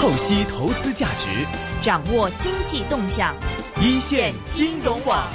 透析投資價值， 掌握經濟動向， 一線金融網。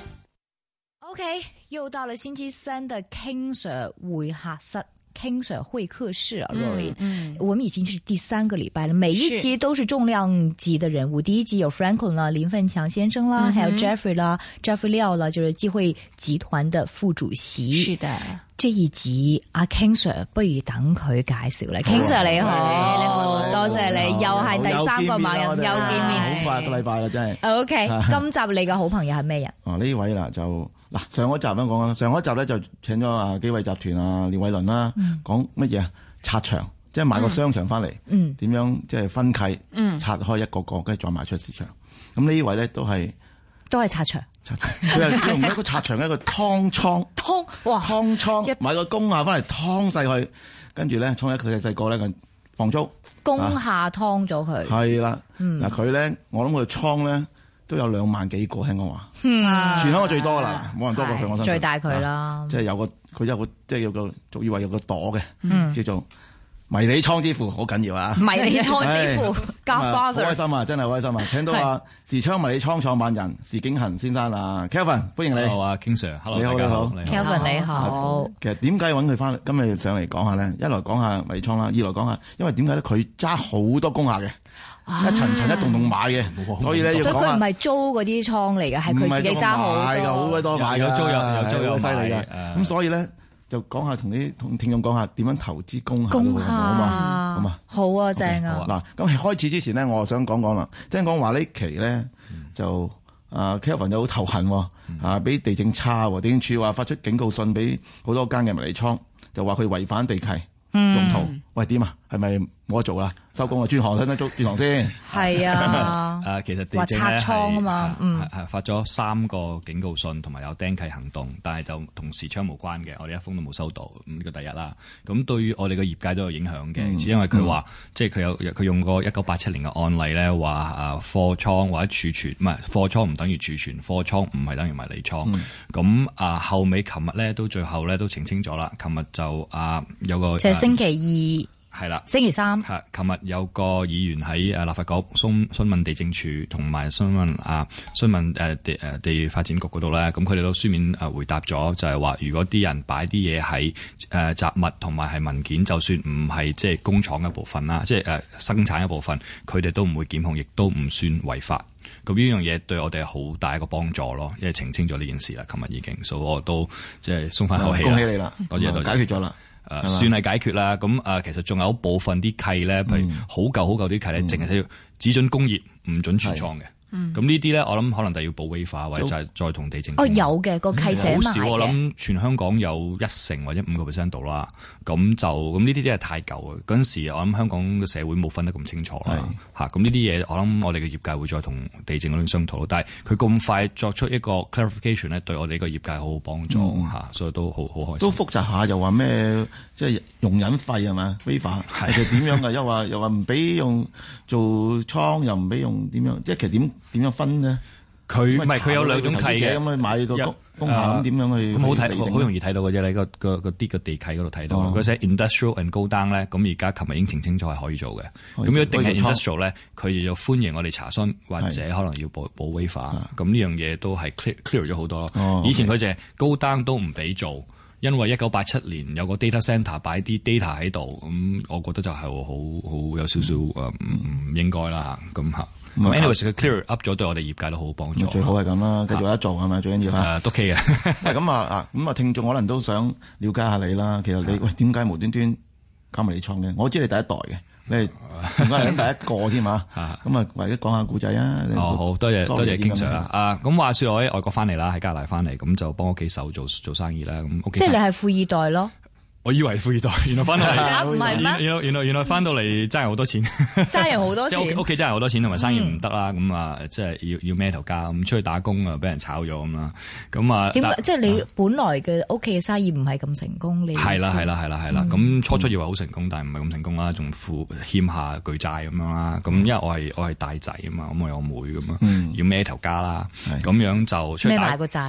OK， 又到了星期三的 King Sir 會客室。King Sir 會客室啊 Roy，我們已經是第3個禮拜了，每一集都是重量級的人物。第一集有 Franklin 啦，林奮強先生啦，還有 Jeffrey 啦 ，Jeffrey 廖啦，就是機會集團的副主席。 是的， 這一集阿 King Sir 不如等佢介紹啦。King Sir 你好，多謝你，又係第3個猛人，又見面， 好快個禮拜啦，真係。 OK， 今集你嘅好朋友係咩人？ 呢位啦就。嗱，上一集咁講啦，上一集咧就請咗紀惠集團啊廖偉倫啦，講乜嘢啊？拆牆，即係買個商場翻嚟，點樣即係分契，拆開一個個，跟住再賣出市場。咁呢位咧都係拆牆， 佢係用一個拆牆一個湯倉，湯倉買個工廈翻嚟湯細佢，跟住咧倉一細個咧放租， 工廈湯咗佢， 係啦，嗱佢咧，我諗佢倉咧。都有2萬幾個，聽講話，全香港最多啦，冇人多過佢，我相信最大佢啦。 即係佢有個即係有個俗語話有個朵嘅，叫做迷你倉之父，好緊要啊！迷你倉之父 ，Godfather， 好開心啊，真係好開心啊！請到啊時昌迷你倉創辦人時景恆先生啊 ，Kelvin， 歡迎你。 好啊 ，King Sir，Hello， 你好，你好 ，Kelvin 你好。 其實點解揾佢翻今日上嚟講下咧？一來講下迷你倉啦，二來講下，因為點解咧？佢揸好多工廈嘅。一層一棟棟買嘅，所以咧要講下。所以佢唔係租嗰啲倉嚟嘅，係佢自己揸好多。買㗎，好鬼多買㗎， 有租有犀利㗎。咁所以咧就講下同聽眾講下點樣投資工廈好嘛？好啊，正啊。嗱，咁開始之前咧，我想講講啦。聽講話呢期咧就Kelvin 就好頭痕喎，俾地政差喎，地政處話發出警告信俾好多間嘅迷你倉，就話佢違反地契用途。喂，點啊？係咪冇得做啦？收工啊！轉行轉行先。係啊。 其實地政咧係發咗3個警告信，同埋有釘契行動，但係就同時昌無關嘅，我哋一封都冇收到。呢個第一啦。咁對於我哋嘅業界都有影響嘅，因為佢話即係佢用過1987年嘅案例咧，話貨倉或者儲存，唔係貨倉唔等於儲存，貨倉唔係等於迷你倉。咁後尾琴日咧都最後咧都澄清咗啦。琴日就有個即係星期2。係啦，星期3 係，琴日有個議員喺立法局詢問地政處同埋詢問地發展局嗰度咧，咁佢哋都書面回答咗，就係話如果啲人擺啲嘢喺雜物同埋係文件，就算唔係即係工廠一部分啦，即係生產一部分，佢哋都唔會檢控，亦都唔算違法。咁呢樣嘢對我哋好大一個幫助咯，因為澄清咗呢件事啦，琴日已經，所以我都即係鬆翻口氣。 恭喜你啦， 多謝， 解決咗啦。 算係解決啦。咁其實仲有部分啲契咧，譬如好舊啲契咧，淨係要只准工業，唔准存倉嘅。咁呢啲咧，我諗可能就要補 waiver 或者就係再同地政。 有嘅個契寫埋嘅。好少， 我諗全香港有1成或者5% 度啦。咁呢啲真係太舊啊！嗰陣時我諗香港嘅社會冇分得咁清楚啦。咁呢啲嘢我諗我哋嘅業界會再同地政嗰邊商討。但係佢咁快作出一個 clarification 咧，對我哋個業界好好幫助所以都好開心。都複雜下，又話咩即係容忍費係嘛 waiver 係點樣㗎？又話唔俾用做倉，又唔俾用點樣？即係其實點樣分呢？ 佢有2種契嘅， 咁去買個工廈咁點樣去？ 咁好容易睇到嘅啫，你個地契嗰度睇到。佢寫 industrial and go down 咧，咁而家琴日已經澄清咗係可以做嘅。咁如果定係 industrial 咧，佢就歡迎我哋查詢，或者可能要補 waiver。咁呢樣嘢都係 clear 咗好多咯。以前佢就係 go down 都唔俾做，因為1987年有個 data centre 擺啲 data 喺度，咁我覺得就係好有少少唔應該啦咁嚇。anyways 佢 clear up 咗，對我哋業界都好幫助。 最好係咁啦，繼續得做係咪？最緊要嚇。 都 OK 嘅。 咁聽眾可能都想了解下你啦。其實你點解無端端搞迷你倉嘅？我知你第一代嘅，你係點解係第一個添嘛？咁或者講下故仔啊。 好多謝 King Sir 啦。咁話說我喺外國翻嚟啦，喺加拿大翻嚟，咁就幫屋企手做生意啦。咁屋企即係你係富二代咯。 我以為富二代，原來翻到嚟唔係咩？ 原來翻到嚟爭人好多錢， 爭人好多錢。 屋企爭人好多錢，同埋生意唔得啦，咁即係要孭頭家，咁出去打工啊，俾人炒咗咁啦。咁點解？即係你本來嘅屋企嘅生意唔係咁成功，你係啦。咁初以為好成功，但係唔係咁成功啦，仲欠下巨債咁樣啦。咁因為我係大仔啊嘛，咁我有妹咁啊，要孭頭家啦。咁樣就出去孭埋個債。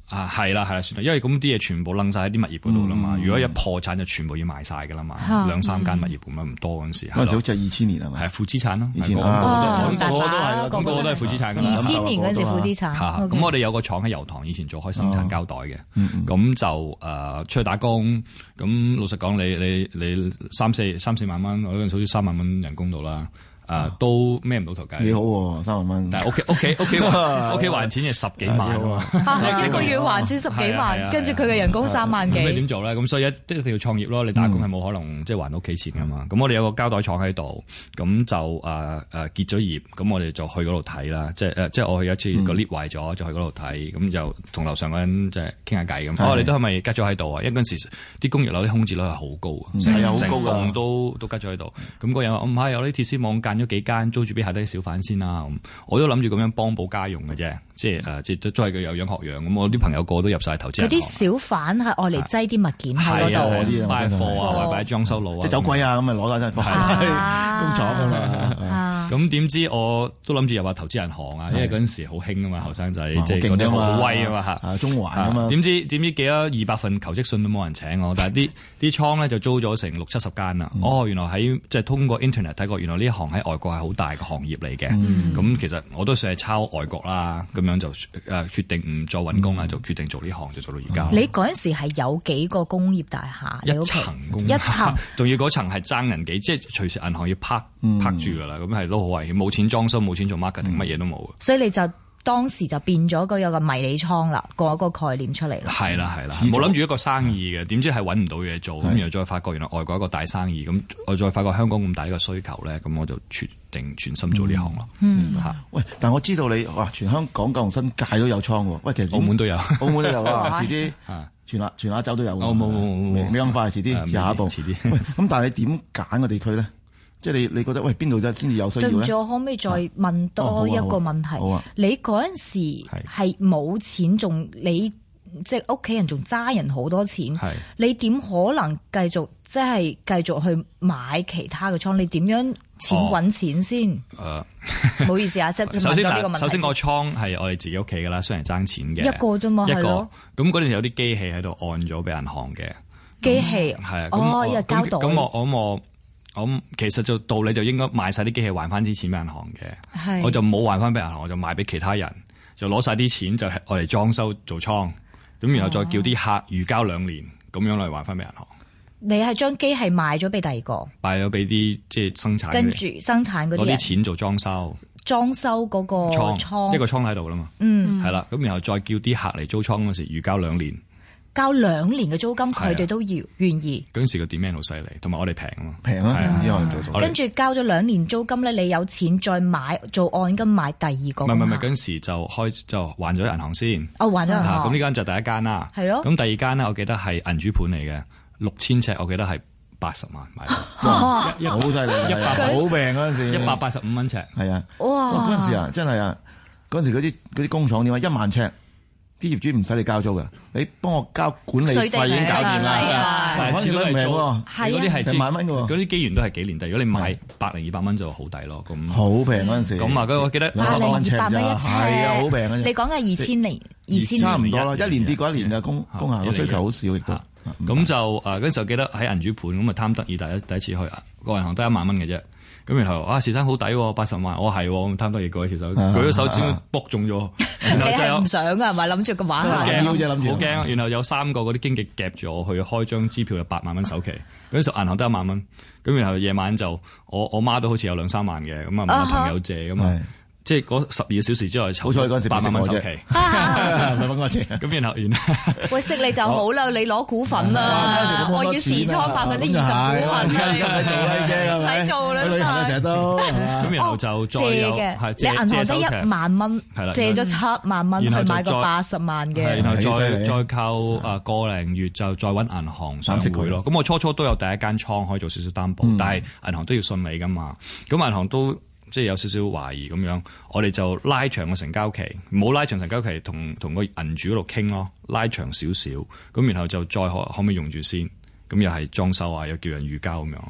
係啦，算啦，因為咁啲嘢全部掕晒喺啲物業嗰度啦嘛。如果一破產就全部要賣晒噶啦嘛，2-3間物業咁樣唔多嗰陣時。 嗰陣時好似係2000年係咪？ 係負資產咯， 以前個個都係， 個個都係負資產㗎。 2000年嗰陣時負資產。 咁我哋有個廠喺油塘，以前做開生產膠袋嘅，咁就出去打工。咁老實講，你3-4萬蚊，我嗰陣時好似3萬蚊人工度啦。都孭唔到頭計。 幾好喎，3萬蚊。 但係屋企還錢係10幾萬啊嘛， 一個月還錢10幾萬，跟住佢嘅人工3萬幾。 咁你點做咧？咁所以一定要創業咯。你打工係冇可能即係還到屋企錢噶嘛。咁我哋有個膠袋廠喺度，咁就結咗業，咁我哋就去嗰度睇啦。即係我去一次個 lift 壞咗，就去嗰度睇，咁就同樓上嗰人即係傾下偈咁。你都係咪吉咗喺度啊？因為嗰陣時啲工業樓啲空置率係好高啊，成棟都吉咗喺度。咁嗰人話：我唔係，有啲鐵絲網咗幾間租住俾下低小販先啦，我都諗住咁樣幫補家用嘅啫，即係都係佢有樣學樣咁。我啲朋友個個都入晒投資銀行。佢啲小販係愛嚟擠啲物件喺嗰度， 擺貨啊，或者擺裝修佬啊， 即係走鬼啊咁咪攞晒貨工廠㗎嘛。咁點知我都諗住入下投資銀行啊，因為嗰陣時好興啊嘛，後生仔即係嗰啲好威啊嘛嚇， 中環啊嘛。 點知幾多200份求職信都冇人請我，但係啲倉咧就租咗成60-70間啦。原來喺即係通過 internet 睇過，原來呢一行喺外國係好大嘅行業嚟嘅。咁其實我都算係抄外國啦，咁樣就決定唔再揾工啦，就決定做呢行，就做到而家。 你嗰陣時係有幾個工業大廈？ 一層工業，一層，仲要嗰層係爭人幾，即係隨時銀行要拍住㗎啦，咁係都好危險，冇錢裝修，冇錢做 marketing，乜嘢都冇。 所以你就當時就變咗有個迷你倉啦，個概念出嚟啦。 係啦，冇諗住一個生意嘅，點知係揾唔到嘢做，咁然後再發覺原來外國一個大生意，咁我再發覺香港咁大一個需求咧，咁我就決定全心做呢行咯。 喂，但我知道你全香港九龍新界都有倉喎。喂，其實澳門都有， 澳門都有啊，遲啲全亞洲都有。冇，未咁快，遲啲下一步。喂，咁但係你點揀個地區咧？即係你覺得邊度先至有需要咧？對唔住， 我可唔可以再問多一個問題？你嗰陣時係冇錢，仲你即係屋企人仲揸人好多錢，你點可能繼續去買其他嘅倉？你點樣揾錢先？唔好意思啊，即係問咗呢個問題。 首先個倉係我哋自己屋企㗎啦，雖然爭錢嘅一個啫嘛，係咯。 咁嗰陣有啲機器喺度按咗俾銀行嘅機器， 係又交代。 咁我其實就道理就應該賣晒啲機器還翻啲錢俾銀行嘅，我就冇還翻俾銀行，我就賣俾其他人，就攞晒啲錢就係我嚟裝修做倉，咁然後再叫啲客預交2年，咁樣嚟還翻俾銀行。 你係將機器賣咗俾第二個， 賣咗俾啲即係生產， 跟住生產嗰啲攞啲錢做裝修嗰個倉， 一個倉喺度啦嘛，係啦，咁然後再叫啲客嚟租倉嗰時預交2年。 交2年嘅租金，佢哋都要願意。 嗰陣時個 demand 好犀利，同埋我哋平啊嘛， 平啊，唔知可能做到。 跟住交咗2年租金咧，你有錢再買做按金買第二個。 唔係，嗰陣時就還咗銀行先。 還咗銀行。 咁呢間就第一間啦。 係咯。 咁第二間咧，我記得係銀主盤嚟嘅，6000尺，我記得係80萬買到。 好犀利，好平嗰陣時 ，185蚊尺。 係啊。 哇！ 嗰陣時啊，真係啊，嗰陣時嗰啲工廠點啊，1萬尺。啲業主唔使你交租嘅，你幫我交管理費已經搞掂啦。 但係始終都係平喎，嗰啲係成萬蚊嘅喎。 嗰啲機緣都係幾年，但如果你買100-200蚊就好抵咯。咁好平嗰陣時。 咁我記得 200蚊一尺，係啊，好平嘅。 你講嘅2000年， 差唔多啦，一年跌過一年嘅工廈個需求好少，亦都。 咁就嗰陣時候記得喺銀主盤咁啊，貪得意第一次去個銀行得1萬蚊嘅啫。咁然後時薪好抵，80萬，我係咁貪得意舉起手，舉咗手指卜中咗。 你係唔想啊？係咪諗住個玩下？ 好驚！然後有3個嗰啲經紀夾住我去開張支票，有8萬蚊首期。嗰陣時銀行得1萬蚊，咁然後夜晚就我媽都好似有2-3萬嘅，咁啊問我朋友借咁啊。即係嗰12個小時之內， 好彩嗰陣時 8萬蚊首期， 唔係揾我借。 咁然後喂，識你就好啦，你攞股份啦，我要持倉20%股份，唔使做啦， 去旅行成日都。 咁然後就再借嘅，你銀行得1萬蚊，借咗7萬蚊去買個80萬嘅， 然後再靠個零月就再揾銀行上會咯。咁我初都有第一間倉可以做少少擔保，但係銀行都要信你噶嘛。咁銀行都即係有少少懷疑咁樣，我哋就拉長個成交期，唔好拉長成交期，同個銀主嗰度傾咯，拉長少少，咁然後就再可唔可以用住先，咁又係裝修啊，又叫人預交咁樣。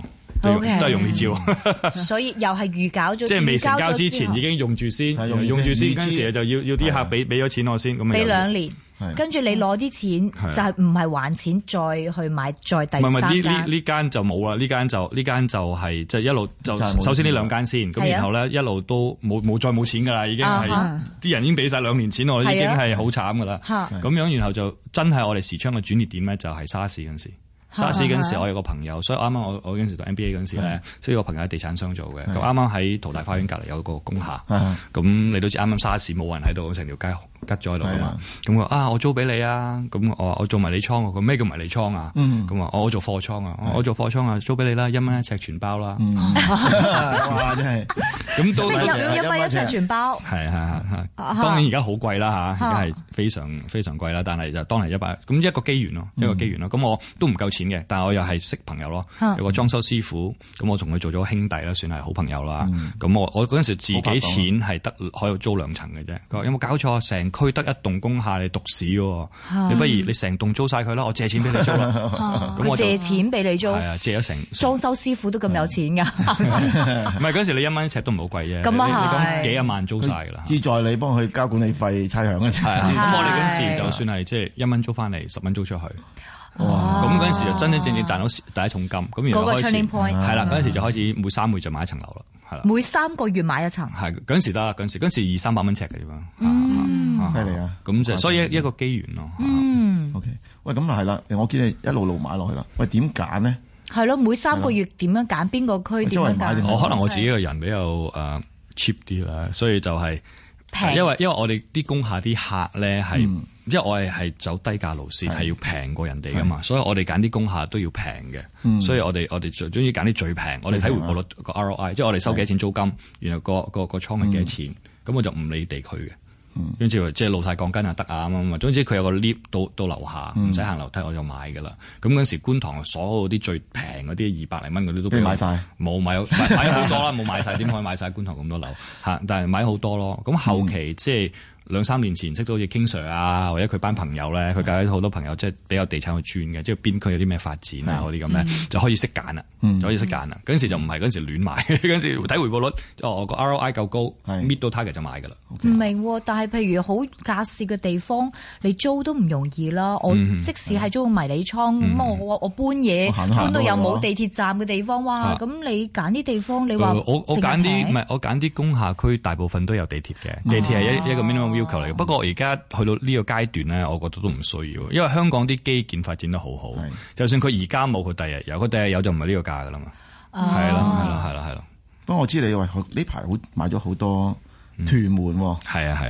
都係用呢招。 所以又係預搞咗， 即係未成交之前已經用住先，用住先，嗰陣時就要啲客俾咗錢我先，咁俾2年。跟住你攞啲錢就係唔係還錢再去買再第三間？ 呢間就冇啦，呢間就係即係一路就首先呢2間先，咁然後咧一路都再冇錢噶啦，已經係啲人已經俾晒2年錢，我已經係好慘噶啦。咁樣然後就真係我哋時昌嘅轉捩點咧，就係沙士嗰陣時。沙士嗰陣時，我有個朋友，所以啱啱我嗰陣時讀 MBA 嗰陣時咧，識個朋友喺地產商做嘅，咁啱啱喺淘大花園隔離有個工廈，咁你都知啱啱沙士冇人喺度，成條街吉咗喺度啊嘛，咁佢話我租俾你啊，咁我做迷你倉，佢咩叫迷你倉啊？咁啊我做貨倉啊，我做貨倉啊，租俾你啦，1蚊1尺全包啦， 哇真係，咁都1蚊1尺全包， 係，當然而家好貴啦嚇，而家係非常非常貴啦，但係就當係100，咁一個機緣咯，咁我都唔夠錢嘅，但係我又係識朋友咯，有個裝修師傅，咁我同佢做咗兄弟啦，算係好朋友啦，咁我嗰陣時自己錢係得可以租2層嘅啫，佢話有冇搞錯，成區得1棟工廈你獨市喎，你不如你成棟租晒佢啦，我借錢俾你租啦。咁我借錢俾你租，係啊，借咗成裝修師傅都咁有錢㗎。 唔係嗰陣時你1蚊1尺都唔好貴啫， 咁啊係幾10萬租晒㗎啦。 志在你幫佢交管理費差餉嘅啫。 咁我哋嗰陣時就算係即係1蚊租翻嚟，10蚊租出去。咁嗰陣時就真真正正賺到第一重金。咁然後開始係啦，嗰陣時就開始每3個月就買一層樓啦。係啦， 每3個月買一層。係嗰陣時得，嗰陣時200-300蚊尺嘅啫嘛。 犀利啊！ 咁就所以一個機緣咯。 OK， 喂，咁係啦，我見你一路買落去啦。喂，點揀呢？ 係咯，每3個月點樣揀？邊個區點樣揀？ 我可能我自己個人比較cheap 啲啦，所以就係平。因為我哋啲工廈啲客咧係，因為我係走低價路線，係要平過人哋噶嘛，所以我哋揀啲工廈都要平嘅。所以我哋最中意揀啲最平。我哋睇回報率個 ROI，即係我哋收幾多錢租金，然後個倉係幾多錢，咁我就唔理地區嘅。跟住即係露晒鋼筋啊得啊咁啊，總之佢有個 lift 到樓下，唔使行樓梯我就買噶啦。咁嗰陣時觀塘所有啲最平嗰啲200零蚊嗰啲都俾買晒， 冇買好多啦，冇買晒，點可以買晒觀塘咁多樓嚇？但係買好多咯。咁後期即係2-3年前識到好似 King Sir 啊，或者佢班朋友咧，佢介好多朋友即係比較地產去轉嘅，即係邊區有啲咩發展啊嗰啲咁咧，就可以識揀啦，就可以識揀啦。嗰陣時就唔係嗰陣時亂買，嗰陣時睇回報率，個 ROI 夠高，meet 到 target 就買㗎啦。 唔明，但係譬如好架勢嘅地方，你租都唔容易啦。我即使係租個迷你倉，咁我搬嘢搬到又冇地鐵站嘅地方，哇！咁你揀啲地方，你話我揀啲唔係我揀啲工廈區，大部分都有地鐵嘅，地鐵係一個 minimum要求嚟嘅。不過而家去到呢個階段咧，我覺得都唔需要，因為香港啲基建發展得好好，就算佢而家冇，佢第日有，佢第日有就唔係呢個價㗎啦嘛。係啦。 不過我知你話呢排買咗好多屯門喎。 係啊。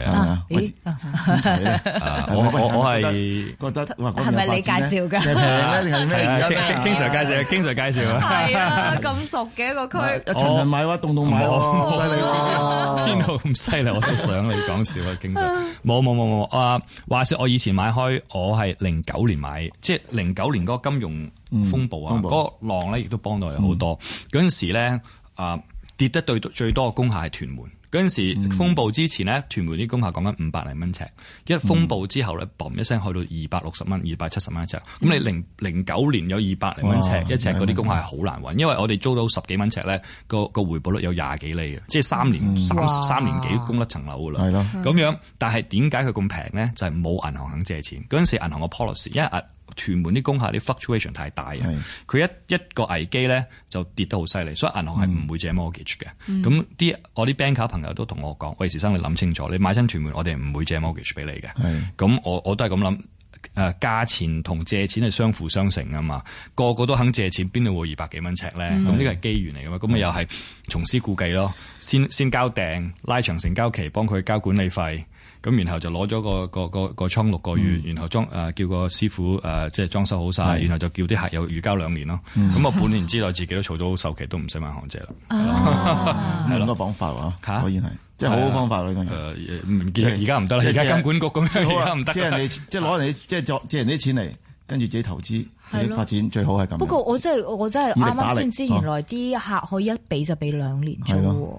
我係覺得係咪你介紹㗎？ 平咧定係咩？ 經常介紹啊。 係啊，咁熟嘅一個區。 一層人買喎，棟買喎，犀利喎。 邊度咁犀利？我都想你講笑啊，經常冇啊！話說我以前買開，我係09年買，即係09年嗰個金融風暴啊，嗰個浪咧亦都幫到我哋好多。嗰陣時咧跌得最多嘅工廈係屯門。嗰陣時風暴之前咧，屯門啲工廈講緊500零蚊尺，一風暴之後咧，嘣一聲去到260蚊、270蚊一尺。咁你09年有200零蚊尺一尺嗰啲工廈係好難揾，因為我哋租到10幾蚊尺咧，個回報率有20幾厘嘅，即係3年幾供甩層樓噶啦。係咯，咁樣。但係點解佢咁平咧？就係冇銀行肯借錢。嗰陣時銀行個 policy，因為屯門啲工廈啲 fluctuation 太大啊，佢一個危機咧就跌得好犀利，所以銀行係唔會借 mortgage 嘅。咁我啲 banker 朋友都同我講，喂，時生你諗清楚，你買親屯門，我哋唔會借 mortgage 俾你嘅。咁我都係咁諗，價錢同借錢係相輔相成啊嘛，個個都肯借錢，邊度會200幾蚊尺咧？咁呢個係機緣嚟噶嘛，咁咪又係重施故技咯，先交訂，拉長成交期，幫佢交管理費。咁然後就攞咗個倉6個月，然後叫個師傅即係裝修好晒，然後就叫啲客有預交2年咯。咁我半年之內自己都儲到首期，都唔使問行借啦。 係兩個方法喎，果然係，即係好好方法咯。 而家唔得啦，而家金管局咁樣，而家唔得。 即係攞人哋借人啲錢嚟，跟住自己投資發展，最好係咁。 不過我真係啱啱先知，原來啲客可以一俾就俾2年租。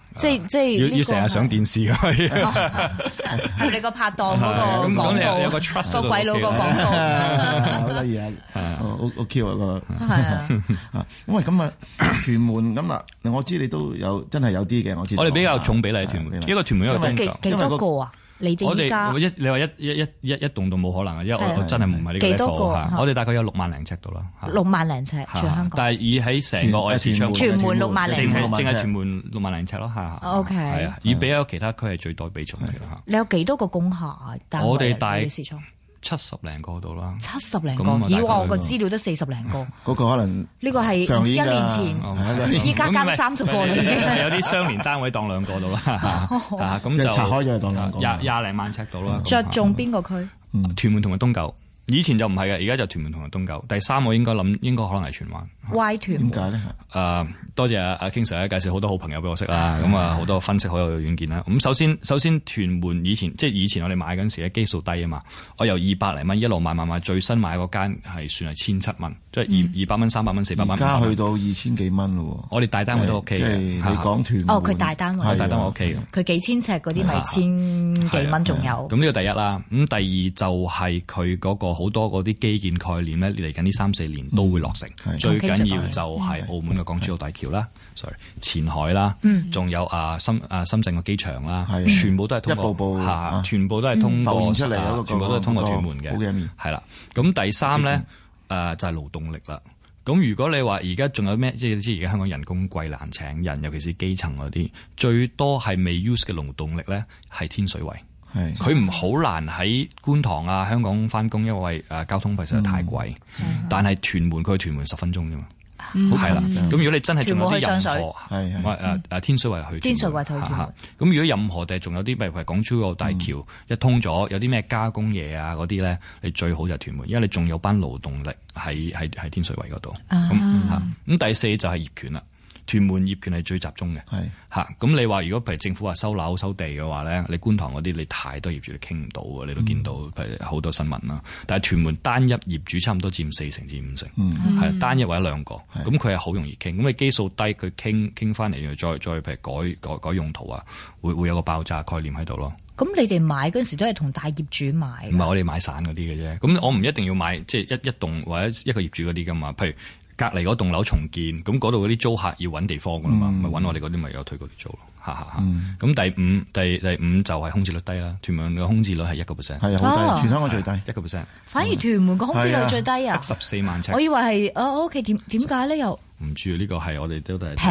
即係要成日上電視㗎。 係你個拍檔嗰個廣告， 有個 trust 個鬼佬個廣告， 好得意啊！好 Q 啊個。 係啊。 喂，咁啊，屯門咁嗱，我知你都有真係有啲嘅，我知。 我哋比較重比例屯門，一個屯門一個東九。 幾多個啊？你哋依家你話一棟都冇可能啊，因為我真係唔係呢個 level。我哋大概有6萬零尺度啦 ，6萬零尺全香港。 但係以喺成個市場， 屯門6萬零尺， 淨係屯門6萬零尺咯，嚇。 OK， 係啊，以比較其他區係最多比重嚟嘅嚇。 你有幾多個工廈啊？ 我哋大 70 零個度啦 ，70零個。以往我個資料都40零個。 嗰個可能呢個係1年前，依家加30個啦已經。 有啲相連單位當2個度啦，咁就拆開咗當2個。 廿零萬尺度啦。 着重邊個區？ 屯門同埋東九。以前就唔係嘅，而家就屯門同埋東九。第3我應該可能係荃灣。 歪屯門點解咧？ 多謝阿 King Sir 介紹好多好朋友俾我識啦。咁啊好多分析好有遠見啦。咁首先屯門以前我哋買嗰陣時咧基數低啊嘛。我由200零蚊一路買，最新買嗰間係算係1700蚊，即係200蚊、300蚊、400蚊。而家去到2000幾蚊咯。 我哋大單位都 OK 嘅。 即係你講屯門。 佢大單位。 大單位 OK 嘅。 佢幾千尺嗰啲咪千幾蚊仲有。 咁呢個第一啦。咁第二就係佢嗰個好多嗰啲基建概念咧，嚟緊呢3-4年都會落成。最緊要就係澳門嘅港珠澳大橋啦前海啦，仲有深圳個機場啦，全部都係通過一步步全部都係通過出嚟全部都係通過屯門嘅。係啦，咁第3咧就係勞動力啦。咁如果你話而家仲有咩，即係你知而家香港人工貴難請人，尤其是基層嗰啲，最多係未 use 嘅勞動力咧係天水圍。佢唔好難喺觀塘啊香港翻工，因為交通費實在太貴。但係屯門佢去屯門10分鐘啫嘛。係啦，咁如果你真係仲有啲任何天水圍去天水圍去屯門， 咁如果任何地仲有啲，譬如港珠澳大橋一通咗，有啲咩加工嘢啊嗰啲咧，你最好就係屯門，因為你仲有班勞動力喺天水圍嗰度。咁第4就係業權啦。屯門業權係最集中嘅，咁你話如果譬如政府話收樓收地嘅話咧，你觀塘嗰啲你太多業主你傾唔到嘅，你都見到譬如好多新聞啦。但係屯門單一業主差唔多佔4成至5成，係單一或者2個，咁佢係好容易傾。咁你基數低，佢傾翻嚟，再譬如改用途啊，會有個爆炸概念喺度咯。 咁你哋買嗰陣時都係同大業主買？ 唔係，我哋買散嗰啲嘅啫。咁我唔一定要買即係一棟或者一個業主嗰啲噶嘛，譬如。隔離嗰棟樓重建，咁嗰度嗰啲租客要揾地方噶嘛，咪揾我哋嗰啲咪有推嗰啲租咯，咁第五就係空置率低啦，屯門嘅空置率係1%， 係好低，全香港最低 1%。 反而屯門個空置率最低啊 ，14萬尺。 我以為係OK，點解咧又？ 唔知呢個係我哋都係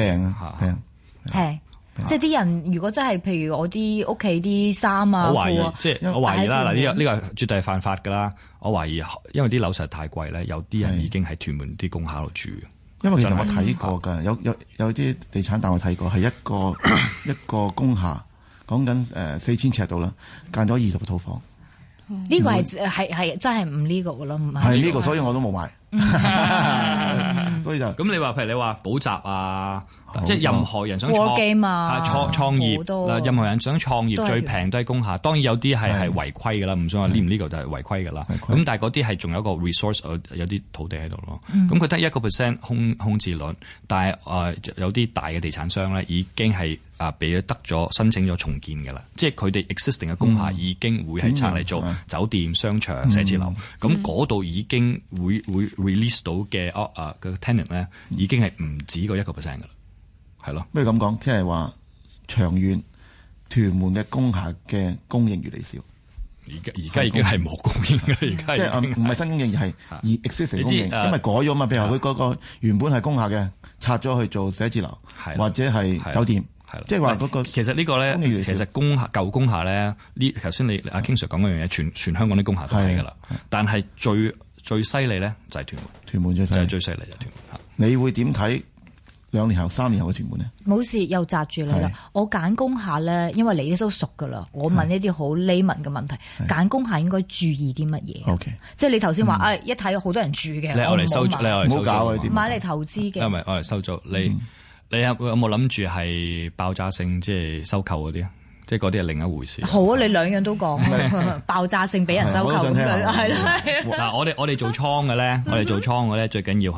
平。 即係啲人如果真係譬如我啲屋企啲衫啊， 我懷疑啦，嗱呢個絕對係犯法㗎啦。我懷疑，因為啲樓實在太貴咧，有啲人已經喺屯門啲工廈度住。 因為其實我睇過㗎，有啲地產但我睇過係一個工廈，講緊4000尺度啦，間咗20個套房。 呢個係真係唔呢個㗎咯，唔係呢個，所以我都冇買。所以就咁你話譬如你話補習啊，即係任何人想創業嗱，任何人想創業最平都係工廈。當然有啲係違規㗎啦，唔想話呢個就係違規㗎啦。咁但係嗰啲係仲有一個 resource， 有啲土地喺度咯。咁佢得1% 空置率，但係有啲大嘅地產商咧已經係俾得咗申請咗重建㗎啦。即係佢哋 existing 嘅工廈已經會係拆嚟做酒店、商場、寫字樓。咁嗰度已經會 release 到嘅個 tenant 咧，已經係唔止個1% 㗎啦。係咯，不如咁講，即係話長遠屯門嘅工廈嘅供應越嚟越少。 而家已經係冇供應嘅，而家即係唔係新供應，而係existing供應，因為改咗嘛。譬如話佢嗰個原本係工廈嘅，拆咗去做寫字樓或者係酒店。係即係話嗰個其實呢個咧，其實舊工廈咧，呢頭先你阿 King Sir 講嗰樣嘢，全香港啲工廈都係㗎啦。但係最犀利咧就係屯門， 屯門最犀利就係屯門。 你會點睇2年後、3年後嘅屯門呢？ 冇事，又擲住你啦！我揀工廈咧，因為你都熟噶啦，我問一啲好 layman 嘅問題。揀工廈應該注意啲乜嘢？OK，即係你頭先話，一睇好多人住嘅， 我嚟收租， 唔好搞呢啲買嚟投資嘅。 唔係我嚟收租，你有冇諗住係爆炸性即係收購嗰啲啊？即係嗰啲係另一回事。好啊， 你兩樣都講，爆炸性俾人收購咁樣，係啦。 嗱，我哋做倉嘅咧，最緊要係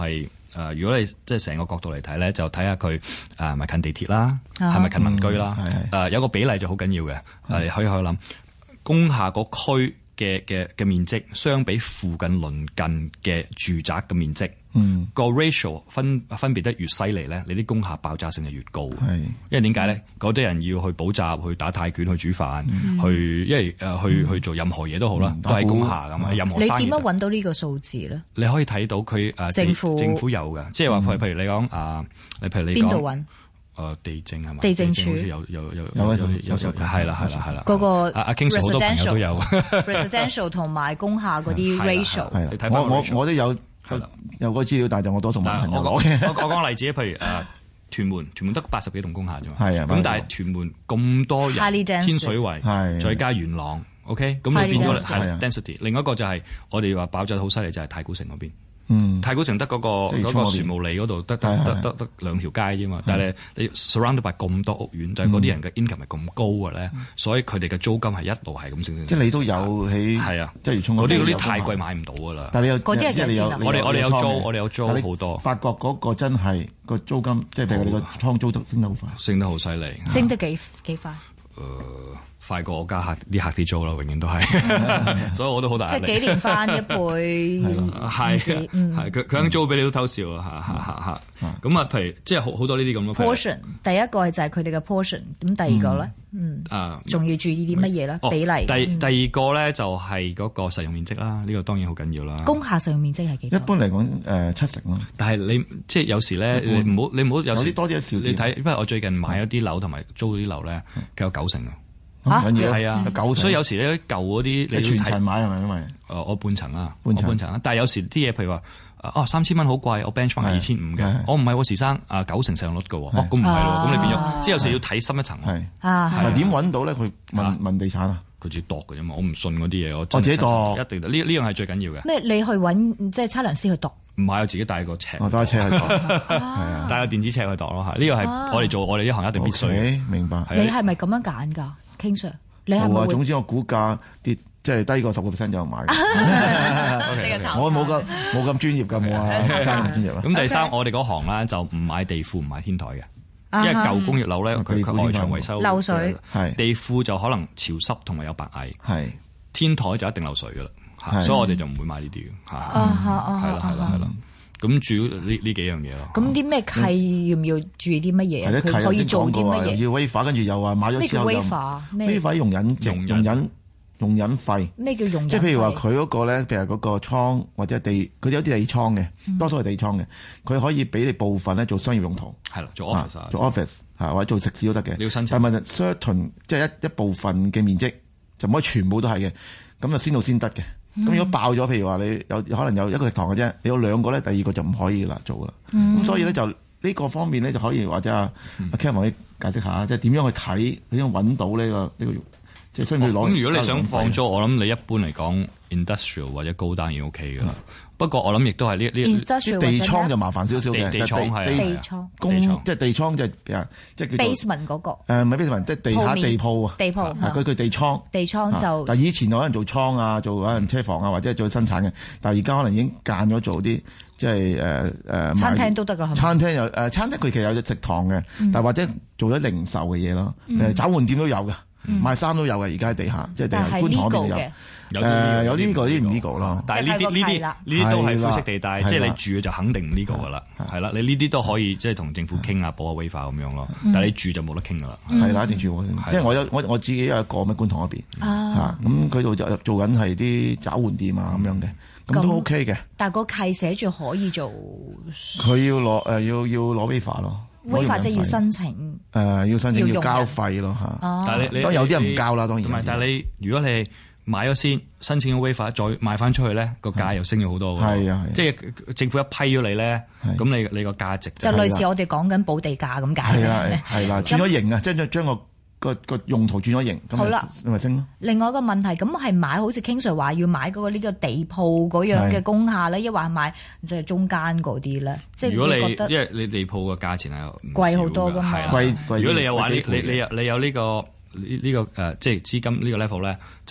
如果你即係成個角度嚟睇咧，就睇下佢係咪近地鐵啦，係咪近民居啦。有個比例就好緊要嘅，你可以諗工廈個區嘅面積相比附近鄰近嘅住宅嘅面積，個 ratio 分別得越犀利咧，你啲工廈爆炸性就越高。因為點解咧？嗰啲人要去補習、去打泰拳、去煮飯、去做任何嘢都好啦，都係工廈咁。任何生意。 你點樣揾到呢個數字咧？ 你可以睇到佢政府有嘅，即係話譬如你講邊度揾？ 地政係嘛？ 地政署好似有係啦。 嗰個阿 King Sir 好多朋友都有 residential 同埋工廈嗰啲 ratio。 我都有個資料，但係我多數冇朋友攞嘅。 我講例子，譬如屯門得80幾棟工廈啫嘛。咁但係屯門咁多人，天水圍再加元朗 ，OK， 咁你變咗係 density。另外一個就係我哋話爆炸好犀利，就係太古城嗰邊。太古城得嗰個船務里嗰度得2條街啫嘛，但係你 surrounded by 咁多屋苑，就係嗰啲人嘅 income 係咁高嘅咧，所以佢哋嘅租金係一路係咁升。 即係你都有起係啊，即係嗰啲太貴買唔到㗎啦。 但係你有嗰啲係幾錢啊？ 我哋有租好多。 發覺嗰個真係個租金，即係譬如你個倉租得升得好快， 升得好犀利， 升得幾快？ 快過我家客啲租啦，永遠都係，所以我都好大壓力。 即係幾年翻一倍， 係佢肯租俾你都偷笑啊！咁啊，譬如即係好多呢啲咁咯。 portion 第一個就係佢哋嘅 portion， 咁第二個咧，仲要注意啲乜嘢咧？比例。 第二個咧就係嗰個實用面積啦，呢個當然好緊要啦。 工廈實用面積係幾多？ 一般嚟講70%咯。但係你即係有時咧，你唔好有時多啲少啲。 你睇，因為我最近買咗啲樓同埋租啲樓咧，佢有90%啊。 係啊， 所以有時咧舊嗰啲你全層買係咪？因為我半層啦，但係有時啲嘢譬如話3000蚊好貴，我 benchmark 係2500嘅，我唔係喎時生90%成率嘅喎，咁唔係喎，咁你變咗即係有時要睇深一層。 係點揾到咧？佢問地產啊， 佢自己度嘅啫嘛，我唔信嗰啲嘢，我自己度一定呢樣係最緊要嘅。 咩？你去揾即係測量師去度？ 唔係，我自己帶個尺， 帶車去度， 帶個電子尺去度咯。呢個係我哋做我哋呢行一定必須。 明白。 你係咪咁樣揀㗎？King Sir，你係咪會？ 總之我估價跌即係低過10% 就買。我冇咁專業㗎，冇啊，真係咁專業啊。 咁第三，我哋嗰行咧就唔買地庫，唔買天台嘅，因為舊工業樓咧佢外牆維修漏水， 地庫就可能潮濕同埋有白蟻，天台就一定漏水㗎啦，所以我哋就唔會買呢啲嘅。係啦。咁主要呢幾樣嘢咯。 咁啲咩契要唔要注意啲乜嘢？佢可以做啲乜嘢？ 要 waiver，跟住又話買咗之後又 waiver 容忍費。 咩叫容忍費？ 即係譬如話佢嗰個咧，譬如嗰個倉或者地，佢有啲地倉嘅，多數係地倉嘅，佢可以俾你部分咧做商業用途。 係啦，做 office 或者做食肆都得嘅。 你要申請。 但係 certain 即係一部分嘅面積就唔可以全部都係嘅，咁就先到先得嘅。咁如果爆咗，譬如話你有可能有一個食堂嘅啫，你有兩個咧，第二個就唔可以啦做啦。咁所以咧就呢個方面咧就可以或者阿 Kevin 可以解釋下，即係點樣去睇，點樣揾到呢個即係需唔需要攞？ 咁如果你想放租，我諗你一般嚟講 industrial 或者高單已經 OK 㗎啦。不過我諗亦都係呢地倉就麻煩少少嘅， 地倉係地倉即係地倉即係 basement 嗰個。 唔係 basement，即係地下地鋪啊。 地鋪佢地倉。 地倉就。 但係以前有人做倉啊，做可能車房啊，或者做生產嘅。但係而家可能已經間咗做啲即係餐廳都得㗎。 餐廳有餐廳佢其實有隻食堂嘅，但或者做咗零售嘅嘢咯。找換店都有㗎。賣衫都有嘅，而家喺地下，即係地下觀塘嗰邊有呢個啲唔呢個咯。 但係呢啲都係灰色地帶，即係你住就肯定唔呢個噶啦，係啦。你呢啲都可以即係同政府傾下補下 waiver 咁樣咯。但係你住就冇得傾噶啦。係啦，一定住即係我自己有一個喺觀塘嗰邊咁佢度就做緊係啲找換店啊咁樣嘅，咁都 OK 嘅。 但係個契寫住可以做， 佢要攞要攞 waiver 咯。 waiver 即係要申請， 要申請要交費咯嚇。但係你有啲人唔交啦，當然。 同埋，但係你如果你買咗先，申請咗 waiver，再賣翻出去咧，個價又升咗好多㗎。係啊，即係政府一批咗你咧，咁你個價值就類似我哋講緊補地價咁解啫。 係啦，轉咗型啊，即係將個用途轉咗型，咁咪升咯。 另外一個問題，咁係買好似 King Sir 話要買嗰個呢個地鋪嗰樣嘅工廈咧，抑或係買即係中間嗰啲咧？即係如果你覺得， 因為你地鋪個價錢係貴好多㗎嘛。 貴。 如果你有話你有呢個即係資金呢個 level 咧，就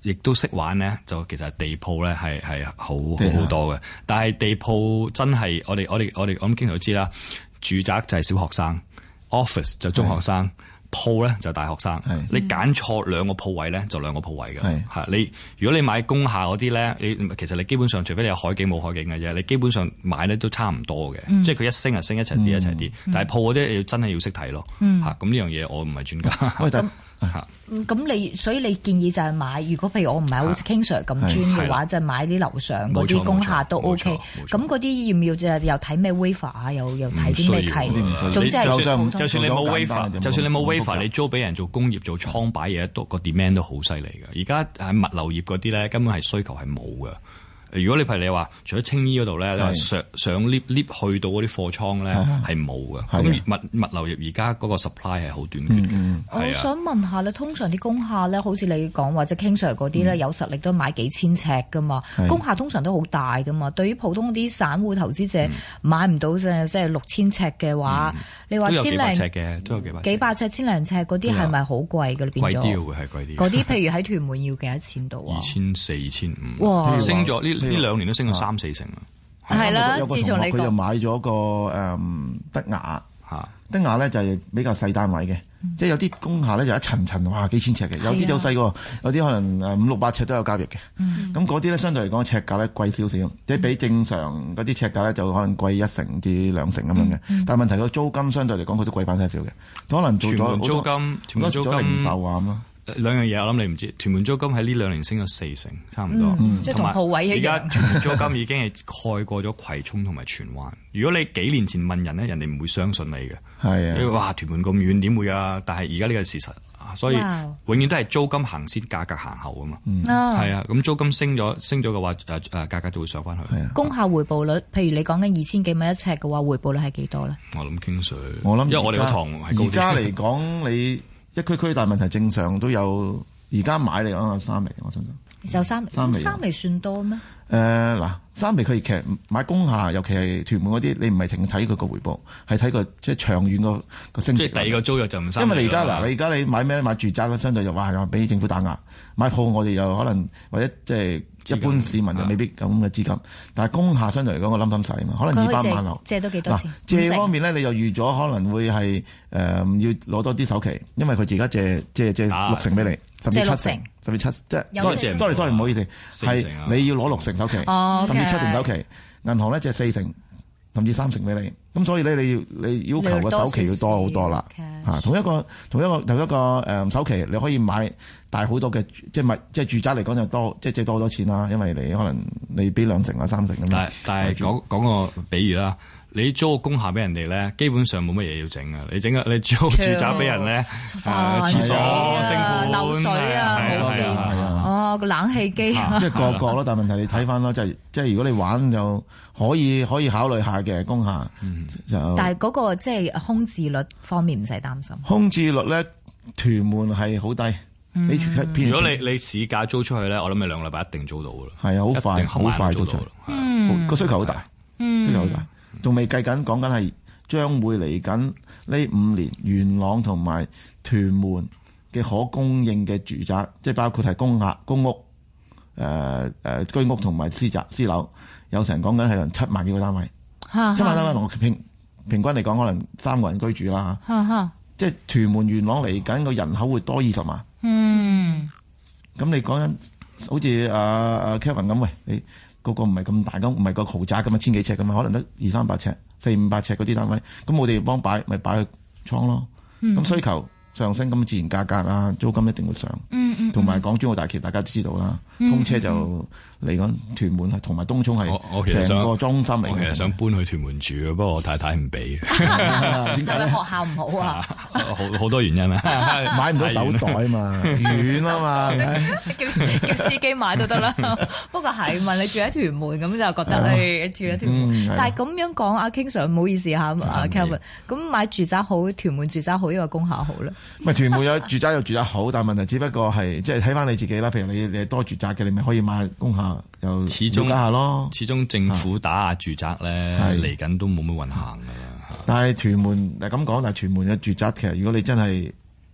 亦都識玩咧，就其實地鋪咧係好多嘅。但係地鋪真係我諗經常都知啦，住宅就係小學生 ，office 就中學生。鋪咧就大學生，你揀錯兩個鋪位咧就兩個鋪位嘅，係你如果你買工廈嗰啲咧，其實你基本上除非你有海景冇海景嘅啫，你基本上買咧都差唔多嘅，即係佢一升就升，一齊跌一齊跌，但係鋪嗰啲真係要識睇咯，嚇咁呢樣嘢我唔係專家。 所以你建議就係買，如果譬如我唔係好似 King Sir 咁專嘅話，就買啲樓上嗰啲工廈都 OK。咁嗰啲要唔要又睇咩 waiver 啊？又睇啲咩契？總之就算你冇 waiver，你租俾人做工業做倉擺嘢，個 demand 都好犀利嘅。而家喺物流業嗰啲咧，根本係需求係冇嘅。如果你譬如你話，除咗青衣嗰度咧，你話上 lift 去到嗰啲貨倉咧係冇嘅。咁物流業而家嗰個 supply 係好短缺嘅。 我想問下咧，通常啲工廈咧，好似你講或者 King Sir 嗰啲咧，有實力都買幾千尺噶嘛。工廈通常都好大噶嘛。對於普通啲散戶投資者買唔到即係6000尺嘅話，你話千零尺嘅都有幾百尺千零尺嗰啲係咪好貴㗎？變咗貴啲會係貴啲。嗰啲譬如喺屯門要幾多錢度啊？2400、2500。哇！升咗呢2年都升咗3-4成啦。係啦，自從你佢就買咗個德雅嚇，德雅咧就係比較細單位嘅，即係有啲工廈咧就一層哇幾千尺嘅，有啲就細個，有啲可能500-600尺都有交易嘅。咁嗰啲咧相對嚟講尺價咧貴少少，即係比正常嗰啲尺價咧就可能貴1成至2成咁樣嘅。但係問題個租金相對嚟講佢都貴翻少少嘅，可能做咗租金，屯門租金零售啊咁咯。兩樣嘢我諗你唔知，屯門租金喺呢2年升咗4成，差唔多。即係同鋪位一樣。而家屯門租金已經係蓋過咗葵涌同埋荃灣。如果你幾年前問人咧，人哋唔會相信你嘅。係啊。哇！屯門咁遠點會啊？但係而家呢個事實，所以永遠都係租金行先，價格行後啊嘛。係啊。咁租金升咗嘅話，價格就會上翻去。係啊。工廈回報率，譬如你講緊2000幾蚊一尺嘅話，回報率係幾多咧？我諗King Sir，因為我哋個堂係高啲。而家嚟講你。一區大問題正常都有，而家買嚟講有3厘，我相信。就3厘算多咩？嗱，3厘佢其實買工廈，尤其係屯門嗰啲，你唔係淨睇佢個回報，係睇佢即係長遠個升值。即係第二個租約就唔3厘。因為你而家你買咩？買住宅咧，相對就又俾政府打壓。買鋪我哋又可能或者即係一般市民就未必咁嘅資金，但係工廈相對嚟講個冧細啊嘛，可能200萬樓。借到幾多錢？借方面咧，你又預咗可能會係要攞多啲首期，因為佢而家借6成俾你，甚至7成，甚至7即係 sorry 唔好意思，係你要攞6成首期，甚至7成首期，銀行咧借4成，甚至3成俾你。咁所以咧，你要求個首期要多好多啦。同一個首期你可以買大好多嘅，即係住宅嚟講就多，即係借多好多錢啦。因為你可能你俾2成或3成咁樣。但係講個比喻啦，你租個工廈俾人哋咧，基本上冇乜嘢要整啊。你租住宅俾人咧，廁所、升盤、漏水啊，好啲。個冷氣機即係個咯。但係問題你睇翻咯，即係如果你玩就可以考慮下嘅工廈。但係嗰個即係空置率方面唔使擔心。空置率咧，屯門係好低。如果你市價租出去咧，我諗你2個禮拜一定租到噶啦。係啊，好快租到。個需求好大，需求好大。仲未計緊，講緊係將會嚟緊呢5年，元朗同埋屯門嘅可供應嘅住宅，即係包括係公屋、居屋同埋私樓，有成講緊係7萬幾個單位。7萬單位平均嚟講，可能3個人居住啦。即係屯門元朗嚟緊個人口會多20萬。咁你講緊好似Kevin 咁，喂，你嗰個唔係咁大咁，唔係個豪宅咁啊，1000幾尺咁啊，可能得200-300尺、400-500尺嗰啲單位。咁我哋幫擺咪擺去倉咯。咁需求上升，咁自然價格啊，租金一定會上。同埋港珠澳大橋大家都知道啦，通車就嚟緊屯門同埋東涌係成個中心嚟。我其實想搬去屯門住嘅，不過我太太唔俾。點解咧？學校唔好啊？好多原因啊！買唔到手袋啊嘛，遠啊嘛，叫司機買都得啦。不過係問你住喺屯門咁就覺得你住喺屯門。但係咁樣講，阿 King Sir 唔好意思嚇，阿 Kevin，咁買住宅好，屯門住宅好，因為工廈好咧。咪屯門有住宅有住宅好，但係問題只不過係即係睇翻你自己啦。譬如你係多住宅嘅，你咪可以買工廈又了解下咯。始終政府打壓住宅咧，嚟緊都冇乜運行㗎啦。但係屯門咁講，但係屯門嘅住宅其實如果你真係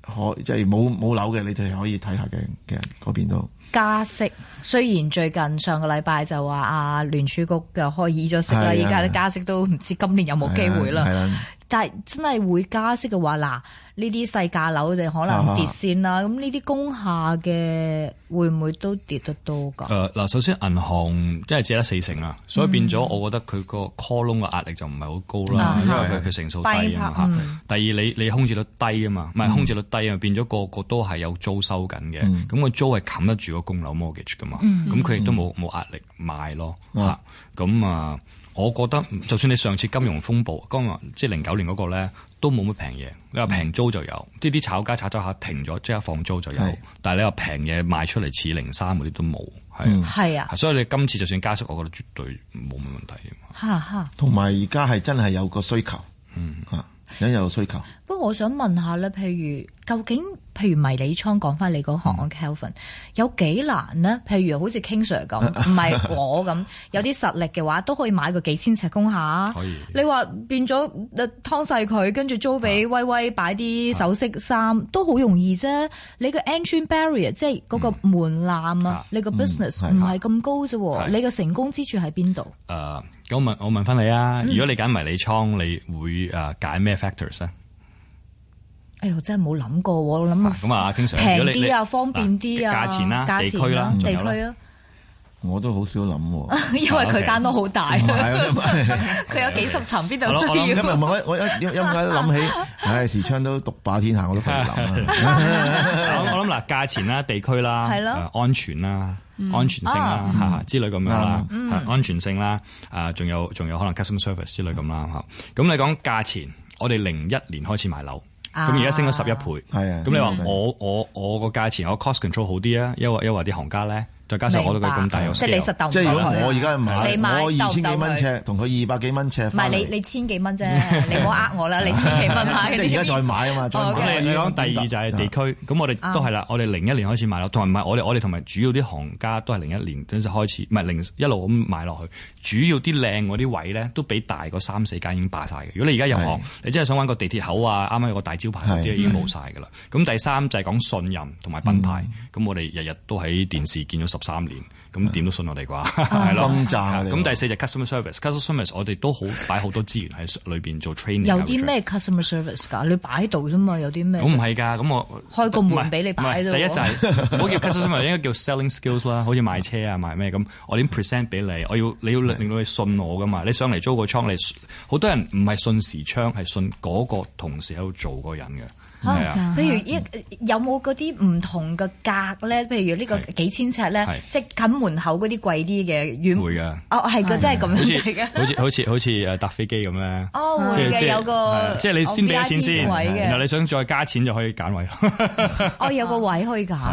即係冇樓嘅，你就可以睇下嘅嗰邊都。 加息雖然最近上個禮拜就話聯儲局就開議咗息啦，而家加息都唔知今年有冇機會啦。但係真係會加息嘅話，嗱呢啲細價樓就可能跌先啦。咁呢啲工廈嘅會唔會都跌得多㗎？ 嗱，首先銀行因為借得40%啊，所以變咗我覺得佢個 call loan 嘅壓力就唔係好高啦，因為佢成數低啊嘛。第二你空置率低啊嘛，唔係空置率低啊，變咗個個都係有租收緊嘅，咁個租係冚得住個供樓 mortgage 㗎嘛，咁佢亦都冇壓力賣咯嚇。咁我覺得就算你上次金融風暴，即係09年嗰個咧，都冇乜平嘢。你話平租就有，啲炒家炒咗下停咗，即刻放租就有。但係你話平嘢賣出嚟似03嗰啲都冇，係啊。所以你今次就算加息，我覺得絕對冇乜問題。 同埋而家係真係有個需求，而家有需求。 不過我想問下咧，究竟譬如迷你倉講翻你嗰行Kelvin，有幾難呢？譬如好似 King Sir 咁，唔係我咁，有啲實力嘅話都可以買個幾千尺工廈。可以。你話變咗劏細佢，跟住租俾威威擺啲首飾衫，都好容易啫。你個 entry barrier 即係嗰個門檻啊，你個 business 唔係咁高啫。你個成功之處喺邊度？ 咁我問翻你啊，如果你揀迷你倉，你會揀咩 factors 啊？ 哎呦，真係冇諗過，我諗咁啊，經常平啲啊，方便啲啊， 價錢啦，地區啦， 地區啊， 我都好少諗， 因為佢間都好大，佢有幾十層，邊度需要？ 因為我一諗起，時昌都獨霸天下，我都費諗。 我諗嗱，價錢啦，地區啦，安全啦，安全性啦，之類咁樣啦，安全性啦，仲有可能 customer service 之類咁啦，咁你講價錢，我哋01年開始買樓。咁而家升咗11倍，咁你話我個價錢我 cost control 好啲啊？因為啲行家咧，再加上我對佢咁大有 scale， 即係你實鬥唔到佢。 即係如果我而家買，我2000幾蚊尺，同佢200幾蚊尺， 唔係你千幾蚊啫，你唔好呃我啦，你千幾蚊買。 即係而家再買啊嘛， 咁你講第二就係地區，咁我哋都係啦，我哋01年開始買樓，同埋唔係我哋同埋主要啲行家都係01年嗰陣開始，唔係一路咁買落去，主要啲靚嗰啲位咧都比大個3-4間已經霸晒嘅。如果你而家入行，你真係想揾個地鐵口啊，啱啱有個大招牌嗰啲已經冇晒㗎啦。咁第三就係講信任同埋品牌，咁我哋日日都喺電視見咗13年，咁點都信我哋啩，係咯。咁第四就 customer service，customer service 我哋都好擺好多資源喺裏邊做 training。 有啲咩 customer service 㗎？你擺喺度啫嘛，有啲咩？ 我唔係㗎，咁我開個門俾你擺喺度。 第一就係唔好叫 customer service，應該叫 selling skills 啦，好似賣車啊賣咩咁，我點 present 俾你？你要令到你信我㗎嘛？你上嚟租個倉，你好多人唔係信時昌，係信嗰個同事喺度做嗰個人嘅。 譬如有冇嗰啲唔同嘅格咧？譬如呢個幾千尺咧，即係近門口嗰啲貴啲嘅， 會㗎。 係㗎，真係咁樣嚟嘅。 好似搭飛機咁咧。 會嘅，有個即係你先俾咗錢先，然後你想再加錢就可以揀位。 有個位可以揀。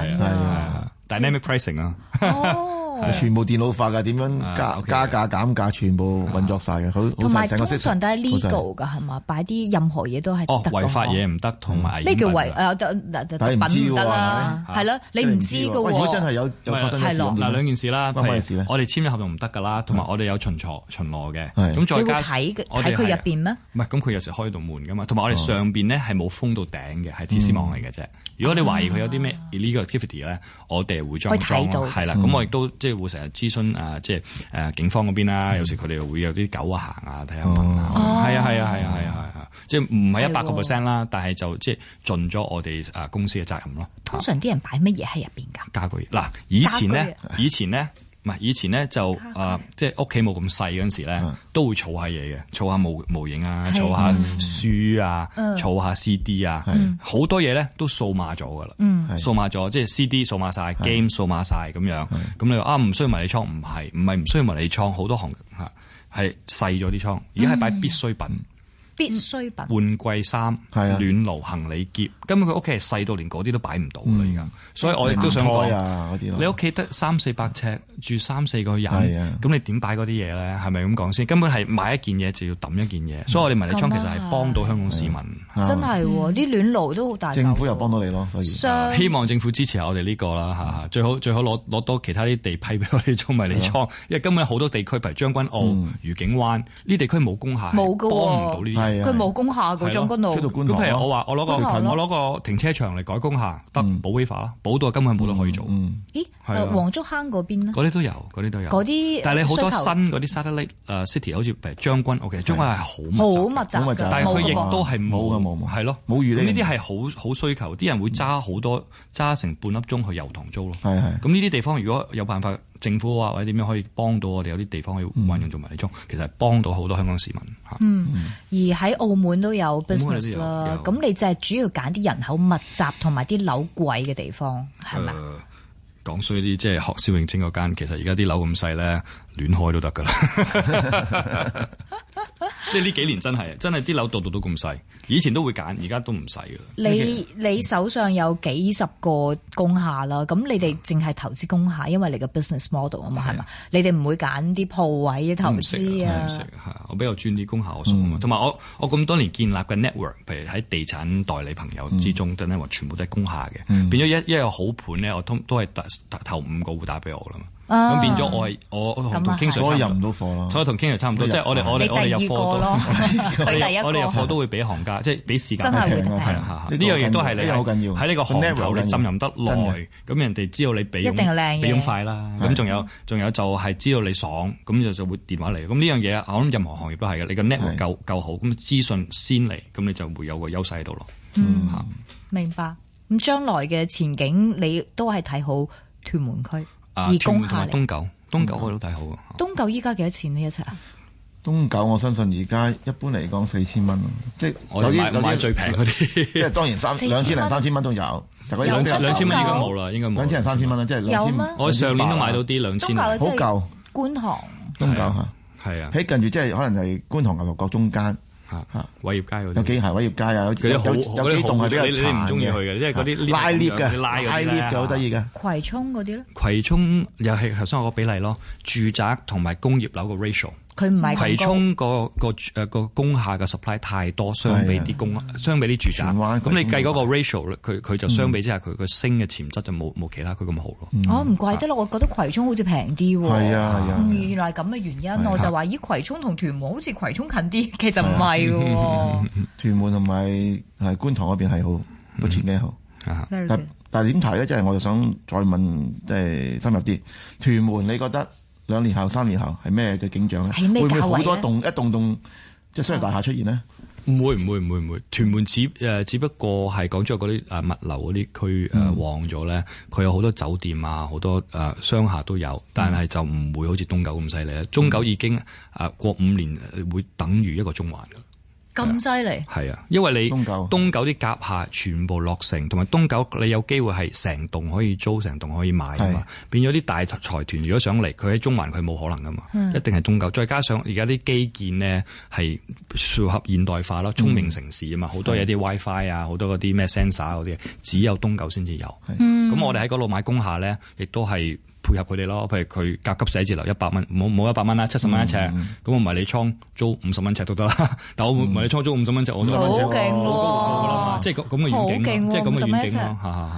Dynamic pricing 啊。 全部電腦化㗎，點樣加價減價，全部運作晒嘅，好同埋通常都係 legal 㗎，係嘛？擺啲任何嘢都係得。 違法嘢唔得，同埋咩叫違？品唔得啦，係咯，你唔知㗎喎。 如果真係有發生嘅事， 嗱兩件事啦，我哋簽咗合同唔得㗎啦，同埋我哋有巡邏嘅，咁再加睇佢入邊咩？ 唔係，咁佢有時開道門㗎嘛，同埋我哋上邊咧係冇封到頂嘅，係鐵絲網嚟嘅啫。如果你懷疑佢有啲咩 illegal activity 咧，我哋會裝係啦。咁我亦都即係會成日諮詢即係警方嗰邊啦。有時佢哋會有啲狗行啊，睇下問啊。係啊，即係唔係100%啦，但係就即係盡咗我哋公司嘅責任咯。 通常啲人擺乜嘢喺入邊㗎？ 家具嗱，以前咧就即係屋企冇咁細嗰陣時咧，都會儲下嘢嘅，儲下模型啊，儲下書啊，儲下 CD 啊，好多嘢咧都數碼咗噶啦，數碼咗，即係 CD 數碼晒 game 數碼晒咁樣。咁你話唔需要迷你倉？唔係唔需要迷你倉，好多行係細咗啲倉，而家係擺必需品。 必需品， 換季衫、暖爐、行李篋，根本佢屋企係細到連嗰啲都擺唔到啦而家，所以我亦都想講，你屋企得300-400尺，住3-4個人，咁你點擺嗰啲嘢咧？係咪咁講先？根本係買一件嘢就要抌一件嘢，所以我哋迷你倉其實係幫到香港市民。 真係啲暖爐都好大， 政府又幫到你咯，所以希望政府支持下我哋呢個啦嚇，最好攞多其他啲地批俾我哋做迷你倉，因為根本好多地區譬如將軍澳、愉景灣呢地區冇工廈，幫唔到呢啲。 佢冇工廈嘅將軍澳。 咁譬如我攞個停車場嚟改工廈，得補 waiver 啦，補到根本冇得可以做。 咦？黃竹坑嗰邊咧？ 嗰啲都有。嗰啲，但係你好多新嗰啲 satellite city， 好似譬如將軍，OK， 將軍係好密集，但係佢亦都係冇，係咯，冇預呢啲係好需求，啲人會揸成半粒鐘去油塘租咯。咁呢啲地方如果有辦法，政府啊或者點樣可以幫到我哋，有啲地方可以運用做迷你倉，其實係幫到好多香港市民嚇。 而喺澳門都有 business 啦，咁你就係主要揀啲人口密集同埋啲樓貴嘅地方，係咪？ 講衰啲，即係學蕭永清嗰間，其實而家啲樓咁細咧，亂開都得噶啦。即係呢幾年真係啲樓度都咁細，以前都會揀，而家都唔細噶啦。 你手上有幾十個工廈啦，咁你哋淨係投資工廈，因為你個 business model 啊嘛，係嘛？你哋唔會揀啲鋪位嘅投資啊？唔識我比較專啲工廈我熟啊嘛，同埋我咁多年建立嘅 network， 譬如喺地產代理朋友之中，真係話全部都係工廈嘅，變咗一個好盤咧，我都係頭5個會打俾我啦嘛。咁變咗我同 King Sir 所以入唔到貨咯， 所以同 King Sir 差唔多，即係我哋入貨都，我哋入貨都會俾行家，即係俾時間。 真係會係啊，呢樣嘢都係你好緊要。 喺呢個行頭你浸淫得耐，咁人哋知道你俾咁快啦。咁仲有就係知道你爽，咁就會電話嚟。咁呢樣嘢我諗任何行業都係嘅。你個 network 夠好，咁資訊先嚟，咁你就會有個優勢喺度咯。 明白。咁將來嘅前景你都係睇好屯門區。而工廈東九我都睇好。 東九依家幾多錢呢一尺啊？ 東九我相信而家一般嚟講4000蚊，即係我買最平嗰啲， 即係當然2000零3000蚊都有。 2000蚊應該冇啦，應該冇。 2000零3000蚊啦，即係2000。 我上年都買到啲2000。 好舊。 觀塘。 東九嚇。 係啊。 喺近住即係可能係觀塘牛頭角中間。 偉業街嗰啲有幾係偉業街啊？有幾棟係比較殘嘅。你唔中意去嘅，即係嗰啲拉 lift 嘅，拉 lift 嘅好得意嘅。 葵涌嗰啲咧？ 葵涌又係頭先我個比例咯，住宅同埋工業樓個 ratio。 佢唔係葵涌個工廈嘅 supply 太多，相比啲住宅。咁你計嗰個 ratio 佢就相比之下，佢個升嘅潛質就冇其他佢咁好咯。 唔怪得咯，我覺得葵涌好似平啲喎。 係啊， 原來係咁嘅原因，我就話咦，葵涌同屯門好似葵涌近啲，其實唔係喎。 屯門同埋係觀塘嗰邊係好個前景好。但係點睇咧？即係我就想再問，即係深入啲。屯門你覺得2年後、3年後係咩嘅景象咧？會唔會好多一棟即係商業大廈出現呢？ 唔會。屯門只不過係講咗嗰啲物流嗰啲區旺咗咧，佢有好多酒店啊，好多商廈都有，但係就唔會好似東九咁犀利啦。中九已經過5年會等於一個中環㗎。 咁犀利？ 係啊，因為你東九啲甲廈全部落成，同埋東九你有機會係成棟可以租，成棟可以買啊嘛。變咗啲大財團如果想嚟，佢喺中環佢冇可能噶嘛，一定係東九。再加上而家啲基建呢係符合現代化咯，聰明城市啊嘛，好多嘢啲 WiFi 啊，好多嗰啲咩 sensor 嗰啲，只有東九先至有。咁我哋喺嗰度買工廈咧，亦都係配合佢哋咯，譬如佢甲級寫字樓100蚊，冇100蚊啦，70蚊一尺，咁我迷你倉租50蚊尺都得啦。但我迷你倉租50蚊尺，我都好勁喎！ 即係咁嘅遠景，即係咁嘅遠景咯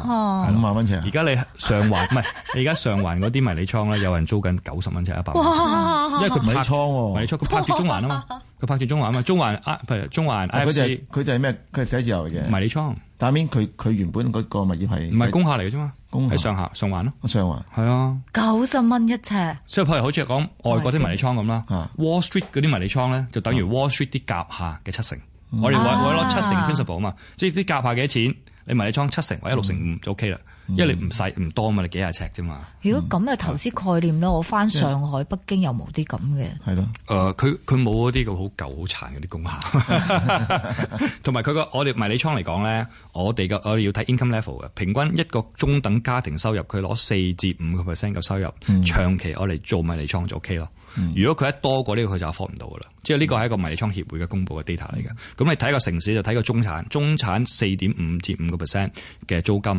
，5萬蚊尺。 而家你上環唔係，而家上環嗰啲迷你倉咧，有人租緊90蚊尺100蚊，因為佢迷你倉佢拍住中環啊嘛，佢拍住中環啊嘛，中環譬如中環 IFC， 佢就係咩？佢係寫字樓嘅迷你倉。 但係佢原本嗰個物業係唔係工廈嚟嘅啫嘛？喺上環咯， 上環係啊 ，90蚊一尺。 即係譬如好似講外國啲迷你倉咁啦，Wall Street 嗰啲迷你倉咧，就等於 Wall Street 啲甲廈嘅7成。我哋為攞7成 principal 啊嘛，即係啲甲廈幾多錢，你迷你倉7成或者6.5%就 OK 啦。因為你唔多嘛，你幾廿尺啫嘛。如果咁嘅投資概念咧，我翻上海、北京有冇啲咁嘅？係咯。佢冇嗰啲咁好舊好殘嗰啲工廈，同埋我哋迷你倉嚟講咧，我哋要睇 income level 嘅，平均一個中等家庭收入，佢攞4至5% 嘅收入，長期我哋做迷你倉就 OK 咯。如果佢一多過呢個，佢就 afford 唔到噶啦。即係呢個係一個迷你倉協會嘅公佈嘅 data 嚟嘅。咁你睇個城市就睇個中產4.5至5% 嘅租金。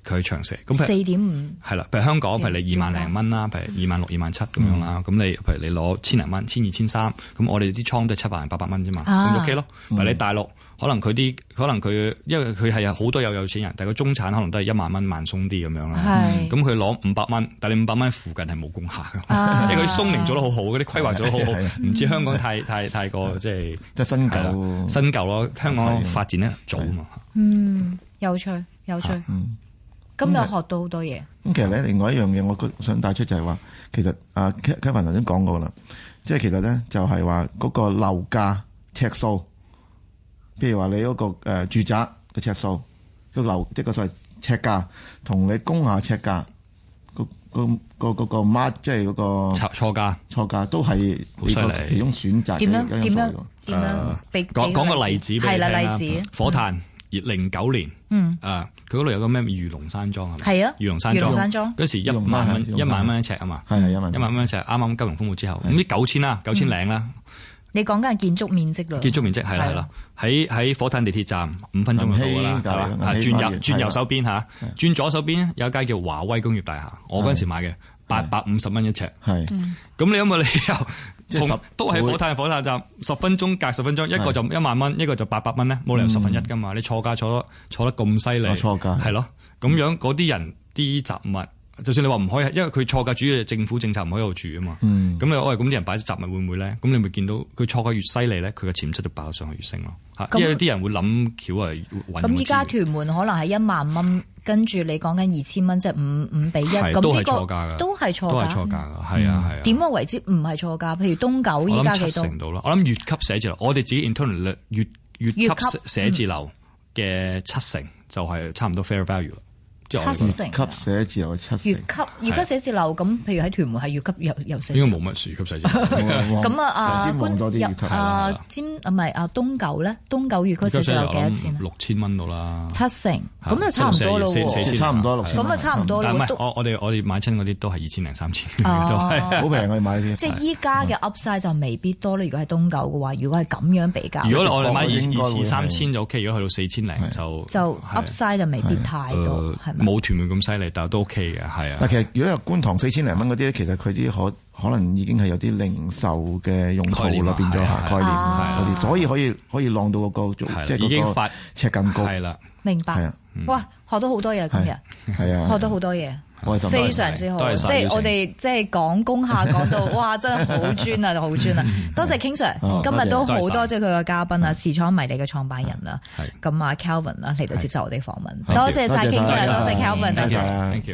佢長射。咁 4.5 係啦，譬如香港，譬如你2萬零蚊啦，譬如26000、27000咁樣啦。咁你譬如你攞1000零蚊、1200、1300，咁我哋啲倉都係700、800蚊啫嘛，咁 OK 咯。但係你大陸可能佢因為佢係有好多有錢人，但係個中產可能都係1萬蚊慢鬆啲咁樣啦。咁佢攞500蚊，但係你500蚊附近係冇工廈嘅，因為佢啲鬆明做得好好，嗰啲規劃做得好好，唔似香港太過即係新舊咯。香港發展得早啊嘛。 有趣。咁又學到好多嘢。 咁其實咧，另外一樣嘢，我想帶出就係話，其實Kevin 頭先講過啦，即係其實咧就係話嗰個樓價尺數，譬如話你嗰個住宅嘅尺數，個樓即係個所謂尺價，同你工廈尺價個 mark 即係嗰個錯價都係呢個其中選擇點樣講個例子俾你聽啦。 例子火炭09年，佢嗰度有個咩魚龍山莊係咪？係啊，魚龍山莊嗰時1萬蚊一尺啊嘛，係1萬蚊一尺，啱啱金融風暴之後，咁啲9000啦，9000零啦。 你講緊係建築面積咯？建築面積係啦，喺火炭地鐵站5分鐘就到㗎啦，轉右手邊嚇，轉左手邊有一間叫華威工業大廈，我嗰陣時買嘅850蚊一尺，咁你有冇理由都係火炭站10分鐘隔10分鐘，一個就1萬蚊，一個就800蚊咧，冇理由1/10㗎嘛？你錯價錯得咁犀利，錯價係咯，咁樣嗰啲人啲雜物。就算你話唔可以，因為佢錯價主要係政府政策唔可以喺度住啊嘛。咁你咁啲人擺啲雜物會唔會咧？咁你咪見到佢錯價越犀利咧，佢嘅潛質都爆上去越升咯。因為有啲人會諗橋係揾。咁依家屯門可能係1萬蚊，跟住你講緊2000蚊，即係5比1，咁呢個都係錯價㗎。係啊。點樣為之唔係錯價？譬如東九依家幾多？我諗7成到啦。我諗乙級寫字樓，我哋自己 internal 乙級寫字樓嘅7成就係差唔多 fair value。7成級寫字樓7成，乙級寫字樓咁，譬如喺屯門係乙級又寫字樓，應該冇乜乙級寫字樓。咁官入東九咧，東九乙級寫字樓幾多錢？6000蚊到啦，7成，咁就差唔多咯喎，差唔多6000，咁啊差唔多咯。我哋買親嗰啲都係2000零3000，都係好平，我哋買啲。即係依家嘅 Upside 就未必多啦。如果係東九嘅話，如果係咁樣比較，如果我哋買2000、3000就 OK，如果去到4000零就 Upside 就未必太多，係。冇屯門咁犀利，但係都 OK 嘅，係啊。但其實如果有觀塘4000零蚊嗰啲咧，其實佢啲可能已經係有啲零售嘅用途啦，變咗概念嗰啲，所以可以浪到個高，即係嗰個尺更高。係啦，明白。哇，學到好多嘢今日，係啊，學到好多嘢，非常之好。即係我哋即係講工廈講到，哇，真係好專啊，好專啊！多謝 King Sir，今日都好多謝佢嘅嘉賓啊，時倉迷你嘅創辦人啊，咁啊 Kelvin 啦嚟到接受我哋訪問，多謝晒 King Sir，多謝 Kelvin，多謝 ，Thank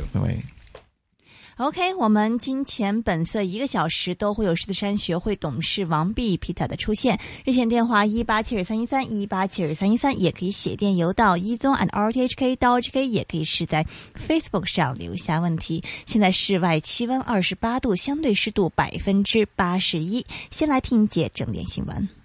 you。OK， 我們金錢本色1個小時都會有獅子山學會董事王弼 Peter 的出現，熱線電話1872313，1872313，也可以寫電郵到ezone@rthk.hk，也可以是在 Facebook 上留下問題。現在室外氣溫28度，相對濕度81%。先來聽一節正點新聞。